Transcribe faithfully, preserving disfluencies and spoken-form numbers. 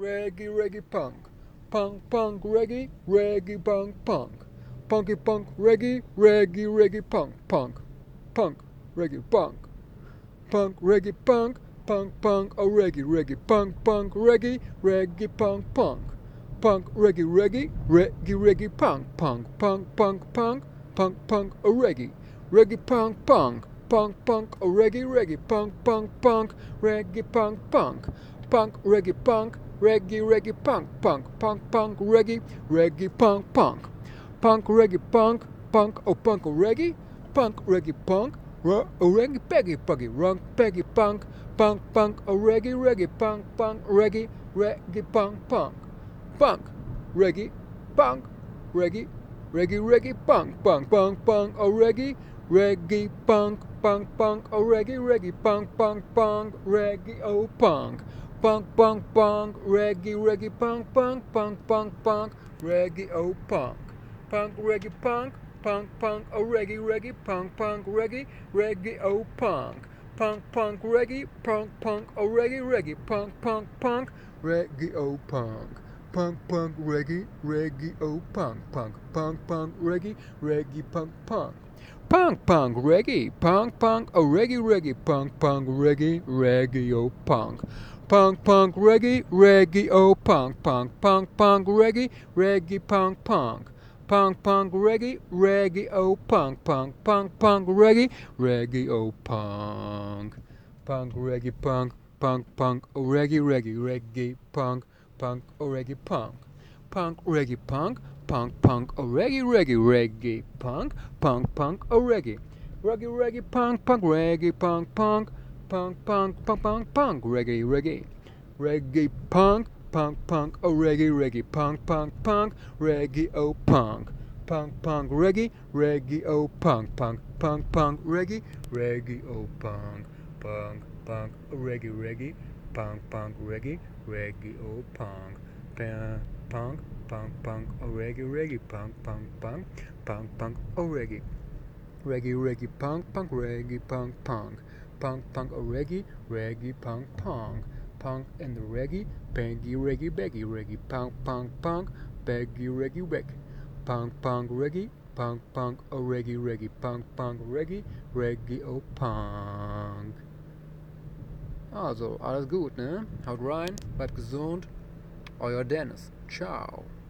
reggae, reggae, punk, punk, punk, reggae, reggae, punk, punk, punky, punk, reggae, reggae, reggae, punk, punk, punk, reggae, punk, punk, reggae, punk, punk, punk, oh reggae, reggae, punk, punk, reggae, reggae, punk, punk, punk, reggae, reggae, reggae, reggae, punk, punk, punk, punk, punk, punk, punk, oh reggae, reggae, punk, punk, punk, punk, oh reggae, reggae, punk, punk, punk, reggae, punk, punk, punk, reggae, punk, reggae, reggae, punk, punk, punk, punk, reggae, reggae, punk, punk, punk, reggae, punk, punk, oh punk, oh reggae, punk, reggae, punk, oh reggae, peggy, puggy, runk, peggy, punk, punk, punk, oh reggae, reggae, punk, punk, reggae, reggae, punk, punk, punk, reggae, punk, reggae, reggae, reggae, punk, punk, punk, punk, oh reggae, reggae, punk, punk, punk, oh reggae, reggae, punk, punk, punk, reggae, oh punk, punk, punk, punk, reggae, reggae, punk, punk, punk, punk, punk, reggae, oh punk, punk, reggae, punk, punk, punk, oh reggae, reggae, punk, punk, reggae, reggae, oh punk, punk, punk, reggae, punk, punk, oh reggae, reggae, punk, punk, punk, reggae, oh punk, punk, punk, reggae, reggae, oh punk, punk, punk, punk, reggae, reggae, punk, punk, punk, punk, reggae, punk, punk, oh reggae, reggae, punk, punk, reggae, reggae, oh punk, punk, punk, reggae, reggae, oh punk, punk, punk, punk, reggae, reggae, punk, punk, punk, punk, reggae, reggae, oh punk, punk, punk, punk, reggae, reggae, oh punk, punk, reggae, punk, punk, punk, oh reggae, reggae, reggae, punk, punk, oh reggae, punk, punk, reggae, punk, punk, punk, oh reggae, reggae, reggae, punk, punk, punk, oh reggae, reggae, reggae, punk, punk, reggae, punk, punk, punk, punk, punk, punk, punk, reggae, reggae, reggae, punk, punk, punk, oh reggae, reggae, punk, punk, punk, reggae, oh punk, punk, punk, reggae, reggae, oh punk, punk, punk, punk, reggae, reggae, oh punk, punk, punk, reggae, reggae, punk, punk, reggae, reggae, oh punk, punk, punk, punk, oh reggae, reggae, punk, punk, punk, punk, punk, oh reggae, reggae, reggae, punk, punk, reggae, punk, punk, punk, punk, oh reggae, reggae, punk, punk, punk and the reggae, baggy, reggae, baggy, reggae, punk, punk, punk, baggy, reggae, reggae, punk, punk, reggae, punk, punk, oh reggae, reggae, punk, punk, reggae, reggae, oh punk. Also, alles gut, ne? Haut rein, bleibt gesund. Euer Dennis. Ciao.